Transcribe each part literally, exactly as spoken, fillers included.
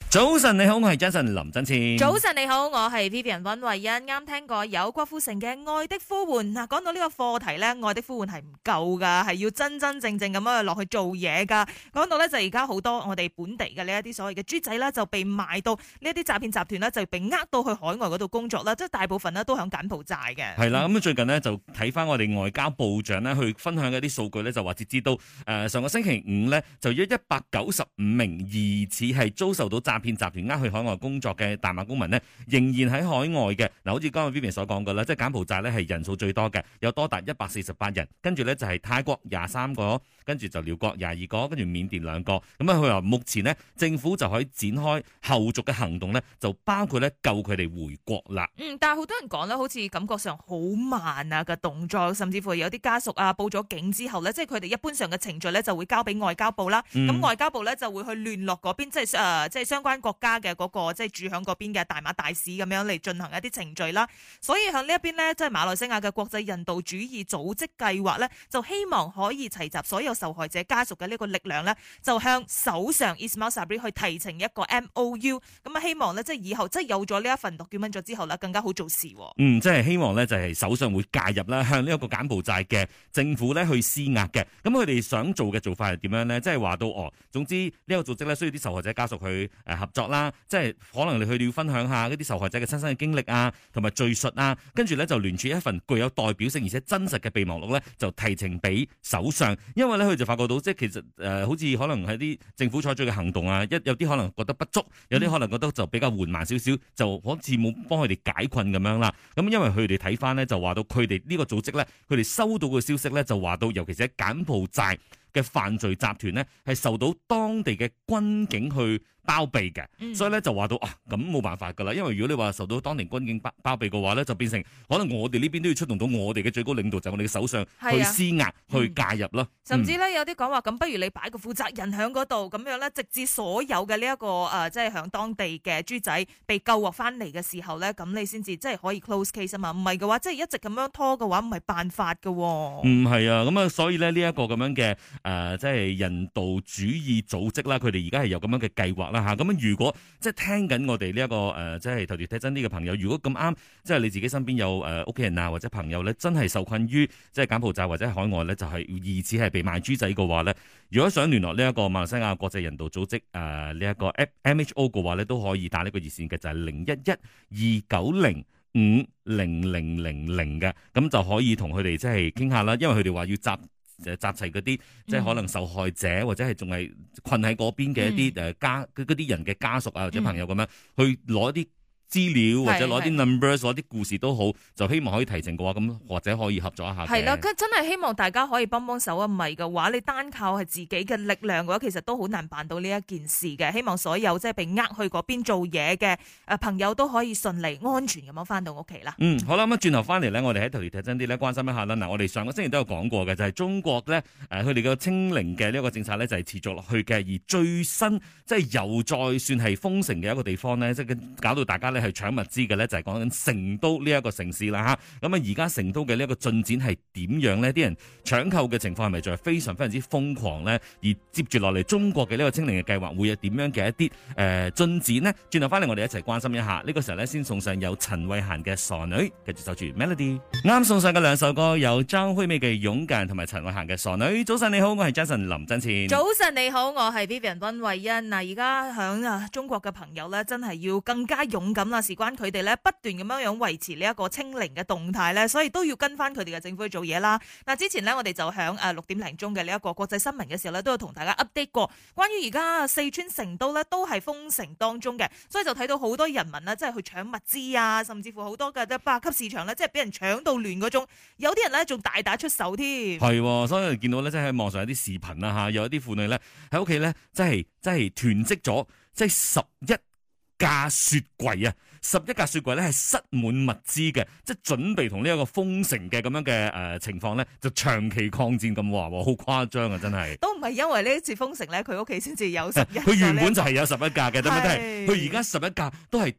早晨你好，我係 Jason 林振千。 早晨你好，我係 Vivian 溫慧欣。啱聽過有郭富城嘅《愛的呼喚》嗱，講到呢個課題咧，《愛的呼喚》係唔夠噶，係要真真正正咁樣落去做嘢噶。講到咧就而家好多我哋本地嘅呢一啲所謂嘅豬仔啦，就被賣到呢一啲詐騙集團咧，就被呃到去海外嗰度工作啦，即係大部分咧都響柬埔寨嘅。 係啦，咁最近呢，就睇翻我哋外交部長咧去分享嘅啲數據咧，就話截至到誒上個星期五咧，就有一百九十五名疑似係遭受到詐騙集團呃去海外工作嘅大馬公民呢，仍然喺海外嘅。嗱，好似剛剛 Vivian 所講嘅啦，即係柬埔寨咧係人數最多嘅，有多達一百四十八人，跟住咧就係泰國廿三個，跟住就寮國廿二個，跟住緬甸兩個。咁啊，佢話目前呢，政府就可以展開後續嘅行動咧，就包括咧救佢哋回國啦。 嗯，但係好多人講咧，好似感覺上好慢啊嘅動作，甚至乎有啲家屬啊報咗警之後咧，即係佢哋一般上嘅程序咧就會交俾外交部啦。咁、嗯、外交部咧就會去聯絡嗰邊，即係誒、呃，即係相關國家嘅嗰、那個即係住響嗰邊嘅大馬大使咁樣嚟進行一啲程序啦。所以響呢一邊咧，即係馬來西亞嘅國際人道主義組織計劃咧，就希望可以齊集所有受害者家屬嘅呢個力量咧，就向首相 Ismail Sabri 去提呈一個 M O U。咁啊，希望咧即係以後即係有咗呢一份 document 咗之後咧，更加好做事。 嗯，即係希望咧就係首相會介入啦，向呢一個柬埔寨嘅政府咧去施壓嘅。咁佢哋想做嘅做法係點樣咧？即係話到哦，總之呢個組織咧需要啲受害者家屬去誒合作啦，即係可能你佢哋要分享下嗰啲受害者嘅親身嘅經歷啊，同埋敘述啊，跟住咧就聯署一份具有代表性而且真實嘅備忘錄咧，就提呈俾首相。因為咧佢就發覺到，即係其實誒、呃、好似可能係啲政府採取嘅行動啊，一有啲可能覺得不足，有啲可能覺得就比較緩慢少少，就好似冇幫佢哋解困咁樣啦。咁因為佢哋睇翻咧，就話到佢哋呢個組織咧，佢哋收到嘅消息咧，就話到尤其是喺柬埔寨嘅犯罪集團咧，係受到當地嘅軍警去包庇嘅，嗯、所以咧就話到啊，咁冇辦法噶啦，因為如果你話受到當地軍警包包庇嘅話咧，就變成可能我哋呢邊都要出動到我哋嘅最高領導，就係、我哋嘅首相去施壓、啊、去介入咯。嗯、 甚至咧有啲講話，咁不如你擺個負責人喺嗰度，咁樣咧，直至所有嘅呢一個誒，即係響當地嘅豬仔被救獲翻嚟嘅時候咧，咁你先至即係可以 close case 啊嘛。唔係嘅話，即係一直咁樣拖嘅話，唔係辦法噶。 唔係啊，咁啊，所以咧呢一個咁樣嘅誒，即係人道主義組織啦，佢哋而家係有咁樣嘅計劃啦吓。咁如果即係聽緊我哋呢一個誒、呃，即係頭條睇真啲嘅朋友，如果咁啱，即係你自己身邊有誒屋企人啊或者朋友咧，真係受困於即係柬埔寨或者海外咧，就係、是、疑似係被賣豬仔嘅話咧，如果想聯絡呢一個馬來西亞國際人道組織誒呢一個 M H O 嘅話咧，都可以打呢個熱線嘅，就係零一一二九零五零零零零嘅，咁就可以同佢哋即係傾下啦，因為佢哋話要集。就集齊嗰啲即係可能受害者或者係仲係困喺嗰邊嘅一啲誒家嗰啲人嘅家屬啊或者朋友咁樣去攞啲資料或者攞啲 numbers 攞啲故事都好，就希望可以提呈嘅話，咁或者可以合作一下。係啦， 佢真係希望大家可以幫幫手啊！唔係嘅話，你單靠係自己嘅力量嘅話，其實都好難辦到呢一件事嘅。希望所有即係被呃去嗰邊做嘢嘅誒朋友都可以順利安全咁樣翻到屋企啦。嗯， 好啦，咁轉頭翻嚟咧，我哋喺頭條睇真啲咧，關心一下啦。嗱，我哋上個星期都有講過嘅，就係、是、中國咧誒，佢哋嘅清零嘅呢一個政策咧，就係持續落去嘅。而最新即係又再算係封城嘅一個地方咧，即係搞到大家咧係搶物資嘅。咧就係講緊成都呢一個城市啦吓，咁啊而家成都嘅呢一個進展係點樣呢？啲人搶購嘅情況係咪就係非常非常之瘋狂呢？而接住落嚟中國嘅呢個清零嘅計劃會有點樣嘅一啲誒進展呢？轉頭翻嚟我哋一齊關心一下。呢、這個時候咧先送上有陳慧嫻嘅傻女，繼續守住 Melody。啱送上嘅兩首歌有張惠妹嘅勇敢同埋陳慧嫻嘅傻女。早晨你好，我係 Jason 林振前。 早晨你好，我係 Vivian 溫慧欣。嗱，而家響啊中國嘅朋友咧，真係要更加勇敢啦，事關佢哋。不斷咁樣樣維持呢一個清零嘅動態咧，所以都要跟翻佢哋嘅政府去做嘢啦。嗱，之前咧我哋就響誒六點零鐘嘅呢一個國際新聞嘅時候咧，都有同大家 update 過關於而家四川成都咧都係封城當中嘅，所以就睇到好多人民咧，即係去搶物資啊，甚至乎好多嘅百級市場咧，即係俾人搶到亂嗰種，有啲人咧仲大打出手添。 係，所以見到咧，即係喺網上有啲視頻啦吓，有一啲婦女咧喺屋企咧，即係即係囤積咗即係十一架雪櫃啊！十一架雪櫃咧係塞滿物資嘅，即係準備同呢一個封城嘅咁樣嘅誒情況咧，就長期抗戰咁話，好誇張啊！真係都唔係因為呢一次封城咧，佢屋企先至有十一架， 佢原本就係有十一架嘅，點解都係佢而家十一架都係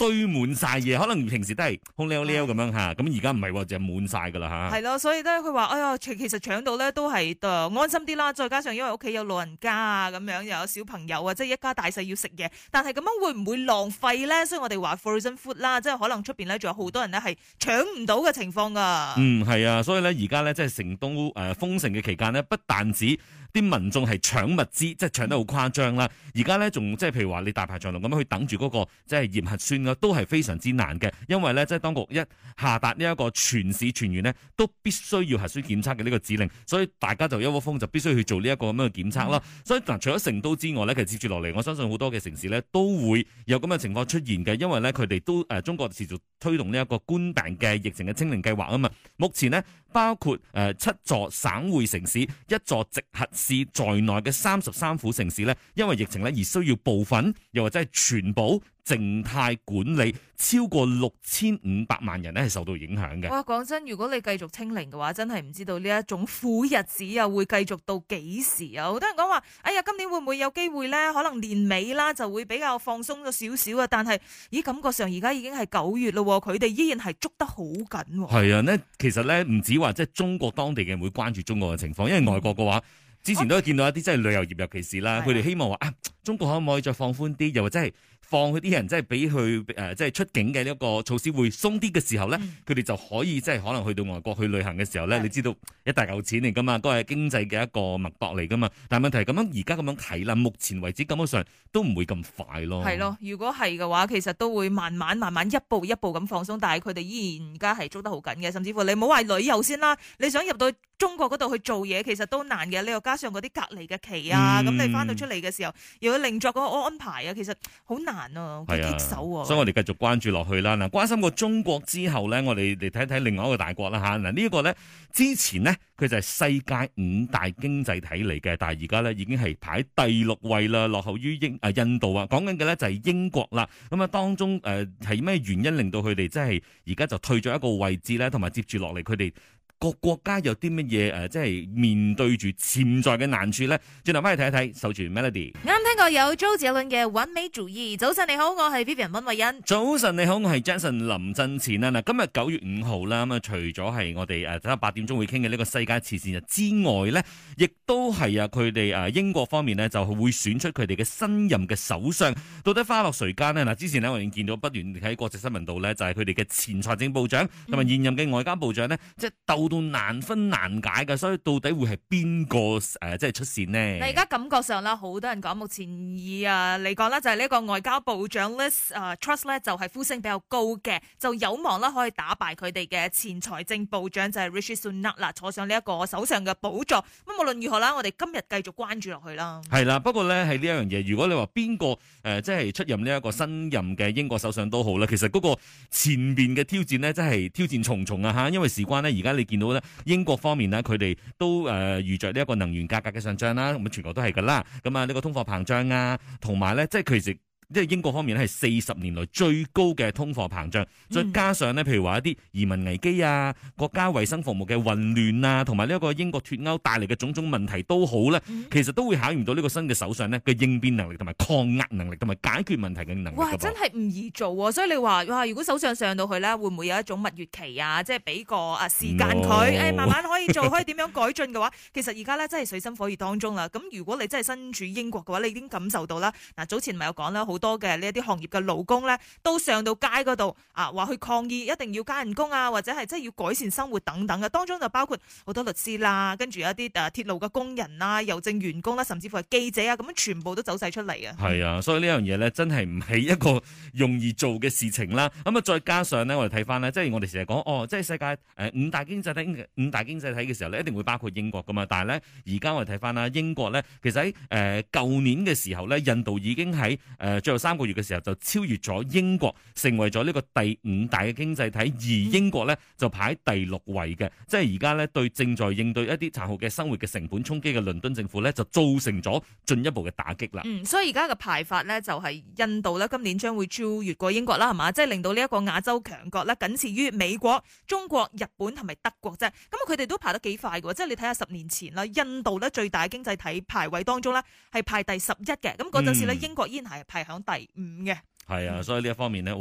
堆滿晒嘢，可能平時都係空溜溜咁樣嚇，咁而家唔係喎，就係滿晒㗎啦嚇。 係咯，所以咧佢話：哎呀，其其實搶到咧都係誒安心啲啦。再加上因為屋企有老人家啊，咁樣又有小朋友啊，即係一家大細要食嘢。但係咁樣會唔會浪費咧？所以我哋話 frozen food 啦，即係可能出邊咧仲有好多人咧係搶唔到嘅情況㗎。 嗯，係啊，所以咧而家咧即係成都誒、呃、封城嘅期間呢，不但止啲民眾係搶物資，即係搶得好誇張啦。而家咧仲即係譬如話你大排長龍咁樣去等住嗰、那個即係驗核酸嘅，都係非常之難嘅。因為咧即係當局一下達呢一個全市全員呢都必須要核酸檢測嘅呢個指令，所以大家就一窩蜂就必須去做呢一個咁樣嘅檢測啦。嗯、所以嗱，除咗成都之外咧，其實接住落嚟，我相信好多嘅城市咧都會有咁嘅情況出現嘅，因為咧佢哋都誒、呃、中國持續推動呢一個冠病嘅疫情嘅清零計劃啊嘛。目前呢，包括誒、呃、七座省會城市、一座直轄市在內嘅三十三府城市咧，因為疫情咧而需要部分又或者係全部靜態管理，超過六千五百萬人咧係受到影響嘅。 哇，講真，如果你繼續清零嘅話，真係唔知道呢一種苦日子又會繼續到幾時啊！好多人講話，哎呀，今年會唔會有機會咧？可能年尾啦就會比較放鬆咗少少啊。但係，咦，感覺上而家已經係九月咯，佢哋依然係捉得好緊。 係啊，呢其實咧唔止話即係中國當地嘅人會關注中國嘅情況，因為外國嘅話，之前都有見到一啲即係旅遊業，尤其是啦，佢哋希望話啊，中國可唔可以再放寬啲，又或者係放佢啲人即係俾佢誒即係出境嘅呢一個措施會鬆啲嘅時候咧，佢哋、嗯、就可以即係可能去到外國去旅行嘅時候咧，的你知道一大嚿錢嚟噶嘛，都係經濟嘅一個脈搏嚟噶嘛。但係問題係咁樣而家咁樣睇啦，目前為止感覺上都唔會咁快咯。係咯， 如果係嘅話，其實都會慢慢慢慢一步一步咁放鬆，但係佢哋依然而家係捉得好緊嘅，甚至乎你唔好話旅遊先啦，你想入到中國嗰度去做嘢，其實都難嘅。你又加上嗰啲隔離嘅期啊，咁、嗯、你翻到出嚟嘅時候，又要另作嗰個安排啊，其實好難啊，好棘手啊。 所以我哋繼續關注落去啦。嗱，關心過中國之後咧，我哋嚟睇睇另外一個大國啦嚇。嗱，呢一個咧之前呢，佢就係世界五大經濟體嚟嘅，但係而家咧已經係排第六位啦，落後於英啊印度啊。講緊嘅咧就係英國啦。咁啊當中誒係咩原因令到佢哋即係而家就退咗一個位置咧，同埋接住落嚟佢哋各國家有啲乜嘢誒，即係面對住潛在嘅難處咧？轉頭翻去睇一睇，守住 Melody。 啱聽過有周杰倫嘅完美主義。早晨你好，我係 Vivian 溫慧欣。 早晨你好，我係 Jason 林振前啦。嗱，今日九月五號啦，咁啊除咗係我哋誒睇下八點鐘會傾嘅呢個世界慈善日之外咧，亦都係啊佢哋誒英國方面呢，就會選出佢哋嘅新任嘅首相，到底花落誰家呢？嗱，之前呢，我哋見到不斷喺國際新聞度咧，就係佢哋嘅前財政部長同埋現任嘅外交部長呢，嗯、即係鬥到難分難解嘅，所以到底會係邊個誒即係出線呢？ 嗱，而家感覺上啦，好多人講目前以啊嚟講啦，就係呢一個外交部長 Liz 誒 Truss 咧，就係呼聲比較高嘅，就有望啦可以打敗佢哋嘅前財政部長就係 Rishi Sunak 啦，坐上呢一個首相嘅寶座。咁無論如何啦，我哋今日繼續關注落去啦。係啦， 不過咧係呢一樣嘢，如果你話邊個誒即係出任呢一個新任嘅英國首相都好啦，其實嗰個前邊嘅挑戰呢，真係挑戰重重啊嚇，因為事關呢，而家你見到咧。英國方面呢，佢哋都誒遇着呢一個能源價格嘅上漲啦，咁全球都係噶啦。咁啊，呢個通貨膨脹啊，同埋咧，即係其實即係英國方面咧係四十年來最高嘅通貨膨脹，再加上呢，譬如話一啲移民危機啊、國家衛生服務嘅混亂啊，同埋呢一個英國脫歐帶嚟嘅種種問題都好咧，其實都會考驗到呢個新嘅首相呢嘅應變能力同埋抗壓能力同埋解決問題嘅能力。 哇，真係唔易做喎！所以你話哇，如果首相上到去咧，會唔會有一種蜜月期啊？即係俾個啊時間佢，誒 No、哎、慢慢可以做，可以點樣改進嘅話，其實而家咧真係水深火熱當中啦。咁如果你真係身處英國嘅話，你已經感受到啦。嗱，早前咪有講啦，好多嘅呢一啲行業嘅勞工咧，都上到街嗰度啊，話去抗議，一定要加人工啊，或者係即係要改善生活等等嘅。當中就包括好多律師啦，跟住有一啲誒鐵路嘅工人啦、郵政員工啦，甚至乎係記者啊，咁樣全部都走晒出嚟啊。係啊，所以呢樣嘢咧，真係唔係一個容易做嘅事情啦。咁啊，再加上咧，我哋睇翻咧，即係我哋成日講哦，即係世界誒五大經濟體五大經濟體嘅時候咧，一定會包括英國噶嘛。但係咧，而家我哋睇翻啦，英國咧，其實喺誒舊年嘅時候咧，印度已經喺誒、呃、最後三個月嘅時候就超越咗英國，成為咗呢個第五大嘅經濟體，而英國咧就排第六位嘅。即係而家咧對正在應對一啲殘酷嘅生活嘅成本衝擊嘅倫敦政府咧，就造成咗進一步嘅打擊啦。 嗯，所以而家嘅排法咧就係印度咧今年將會超越過英國啦，係嘛？即係令到呢一個亞洲強國咧僅次於美國、中國、日本同埋德國啫。咁佢哋都排得幾快嘅，即係你睇下十年前啦，印度咧最大經濟體排位當中咧係排第十一嘅，咁嗰陣時咧英國依然係排響第五嘅。 係啊，所以呢一方面咧，哇！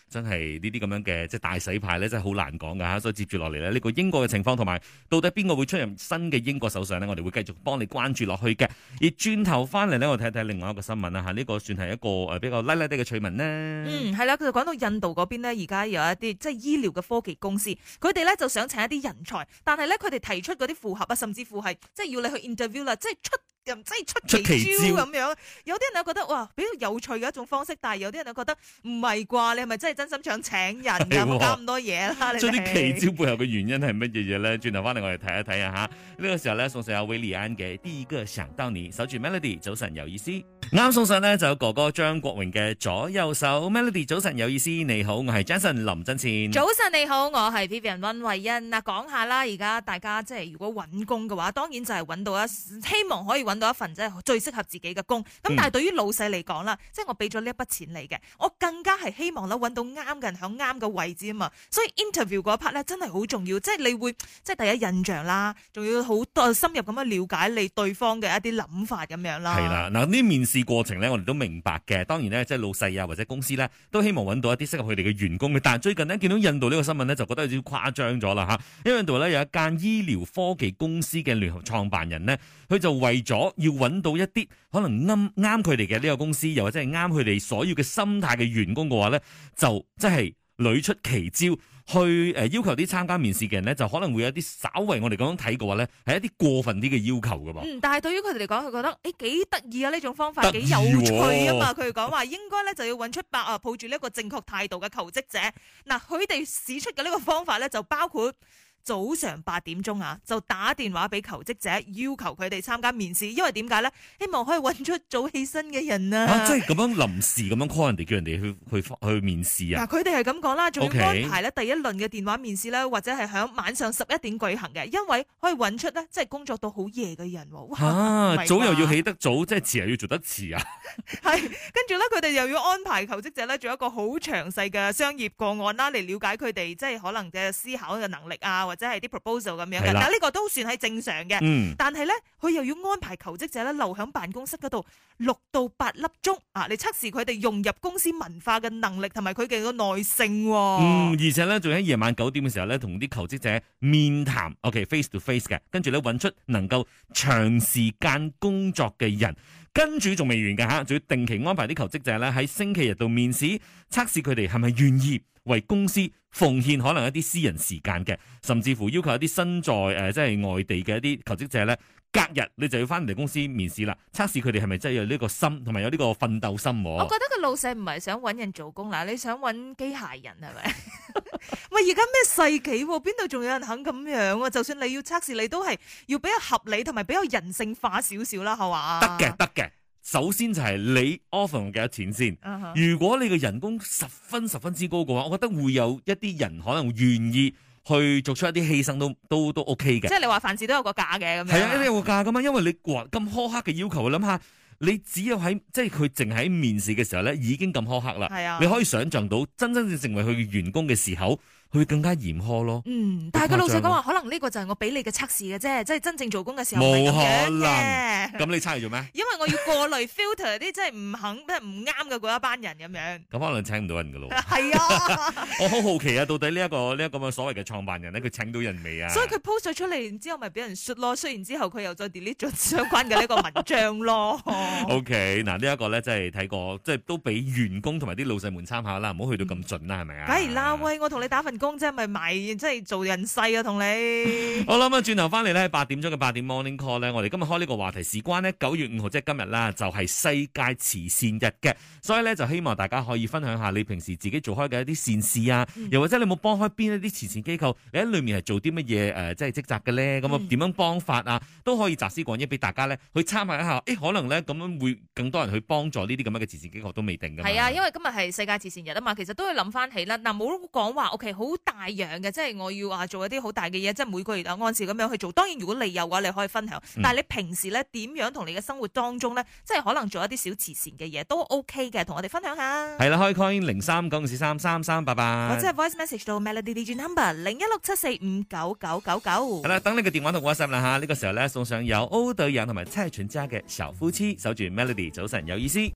真係呢啲咁樣嘅即係大洗牌咧，真係好難講噶吓。所以接住落嚟咧，呢個英國嘅情況同埋到底邊個會出任新嘅英國首相呢？我哋會繼續幫你關注落去嘅。而轉頭翻嚟呢，我睇睇另外一個新聞啦吓，呢個算係一個誒比較拉拉啲嘅趣聞呢。 嗯，係啦，佢就講到印度嗰邊呢，而家有一啲即係醫療嘅科技公司，佢哋咧就想請一啲人才，但係咧佢哋提出嗰啲符合啊，甚至乎係即係要你去 interview 啦，即係出。即係出奇招咁樣，有啲人又覺得哇比較有趣嘅一種方式，但係有啲人又覺得唔係啩？你係咪真係真心想請人㗎？冇搞咁多嘢啦！你哋啲奇招背後嘅原因係乜嘢嘢咧？轉頭翻嚟我哋睇一睇啊嚇！呢、這個時候咧送上有韋禮安嘅第一個想到你，守住 Melody 早晨有意思。啱送上呢就有哥哥張國榮嘅左右手 Melody 早晨有意思。你好，我係 Jason 林振前。 早晨你好，我係 Vivian 溫慧欣。嗱，講下啦，而家大家即係如果揾工嘅話，當然就係揾到一希望可以揾到一份即係最適合自己嘅工。咁但係對於老細嚟講啦，即係我俾咗呢一筆錢你嘅，我更加係希望咧揾到啱嘅人喺啱嘅位置啊嘛。所以 interview 嗰一 part 咧真係好重要，即係你會即係第一印象啦，仲要好多深入咁樣了解你對方嘅一啲諗法咁樣啦。 係啦，嗱呢面試過程咧，我哋都明白嘅。當然咧，即係老細啊或者公司咧，都希望揾到一啲適合佢哋嘅員工嘅。但係最近呢，見到印度呢個新聞咧，就覺得有少少誇張咗啦嚇。因為印度咧有一間醫療科技公司嘅聯合創辦人呢，佢就為咗要揾到一啲可能啱啱佢哋嘅呢個公司，又或者係啱佢哋所要嘅心態嘅員工嘅話咧，就即係屢出奇招。去誒要求啲參加面試嘅人咧，就可能會有啲稍為我哋咁樣睇嘅話咧，係一啲過分啲嘅要求噶嘛。 嗯，但係對於佢哋嚟講，佢覺得誒幾得意啊，呢種方法得幾有趣啊嘛。佢哋講話應該咧就要揾出百啊抱住呢一個正確態度嘅求職者。嗱，佢哋使出嘅呢個方法咧就包括早上八點鐘啊，就打電話俾求職者，要求佢哋參加面試。因為點解咧？希望可以揾出早起身嘅人啊！ 啊，即係咁樣臨時咁樣 call 人哋，叫人哋去去去面試啊！ 嗱，佢哋係咁講啦，仲要 Okay 安排咧第一輪嘅電話面試咧，或者係響晚上十一點舉行嘅，因為可以揾出咧即係工作到好夜嘅人。哇！ 啊，早又要起得早，即係遲又要做得遲啊！ 係，跟住咧佢哋又要安排求職者咧做一個好詳細嘅商業個案啦，嚟了解佢哋即係可能嘅思考嘅能力啊，或者係啲 proposal 咁樣嘅。但係呢個都算係正常嘅。嗯。但係咧，佢又要安排求職者咧留喺辦公室嗰度六到八粒鐘啊，嚟測試佢哋融入公司文化嘅能力同埋佢哋嘅耐性。 嗯，而且咧仲喺夜晚九點嘅時候咧，同啲求職者面談 ，OK face to face 嘅，跟住咧揾出能夠長時間工作嘅人。跟住仲未完嘅嚇，仲要定期安排啲求職者咧喺星期日度面試，測試佢哋係咪願意為公司奉獻可能一啲私人時間嘅，甚至乎要求一啲身在誒、呃、即係外地嘅一啲求職者咧，隔日你就要翻嚟公司面試啦，測試佢哋係咪真係有呢個心，同埋有呢個奮鬥心。 我覺得個老細唔係想揾人做工啦，你想揾機械人係咪？喂，而家咩世紀？邊度仲有人肯咁樣啊？就算你要測試，你都係要比較合理同埋比較人性化少少啦，係嘛？ 得嘅，得嘅。首先就係你 offer 幾多錢先。Uh huh. 如果你嘅人工十分十分之高嘅話，我覺得會有一啲人可能願意去做出一啲犧牲都都都 OK 嘅。 即係你話凡事都有個價嘅咁樣。 係啊，一定有個價噶嘛，因為你話咁苛刻嘅要求，諗下你只有喺即係佢淨喺面試嘅時候咧，已經咁苛刻啦。係啊，你可以想象到真真正成為佢嘅員工嘅時候，佢會更加嚴苛咯。嗯， 但係個老細講話，可能呢個就係我俾你嘅測試嘅啫，即係真正做工嘅時候冇可能。咁你測嚟做咩？ 因為我要過濾 filter 啲即係唔肯、即係唔啱嘅嗰一班人咁樣。 咁可能請唔到人噶咯。 係啊， 我好好奇啊，到底呢一個呢一個咁嘅所謂嘅創辦人咧，佢請到人未啊？ 所以佢 post 咗出嚟，然之後咪俾人 shoot 咯。雖然之後佢又再 delete 咗相關嘅呢個文章咯。 OK，嗱呢一個咧，即係睇過，即係都俾員工同埋啲老細們參考啦，唔好去到咁盡啦，係咪啊？ 梗係啦，喂，我同你打份工啫，咪賣即係做人勢啊，同你。 好啦，咁啊，轉頭翻嚟咧，八點鐘嘅八點 morning call 咧，我哋今日開呢個話題事關呢九月五號即係今日啦，就係世界慈善日嘅，所以咧就希望大家可以分享下你平時自己做開嘅一啲善事啊，嗯、又或者你冇幫開邊一啲慈善機構，你喺裏面係做啲乜嘢誒，即係職責嘅咧，咁啊點樣幫法啊，都可以集思廣益俾大家咧去參考一下，誒可能咧咁樣會更多人去幫助呢啲咁樣嘅慈善機構都未定㗎嘛。 係啊，因為今日係世界慈善日啊嘛，其實都要諗翻起啦。嗱，冇講話 OK 好大樣嘅，即係我要啊做一啲好大嘅嘢，即係每個月啊按時咁樣去做。當然如果你有嘅話，你可以分享。但係你平時咧點樣同你嘅生活當中咧，即係可能做一啲小慈善嘅嘢都 OK 嘅，同我哋分享下。 係啦，可以 call 零三九四三三三八八， 或者係 voice message 到 Melody D J number 零一六七四五九九九九。 係啦，等你嘅電話同 WhatsApp 啦吓，呢個時候咧送上有歐德陽同埋蔡淳佳嘅小夫妻，守住 Melody 早晨有意思。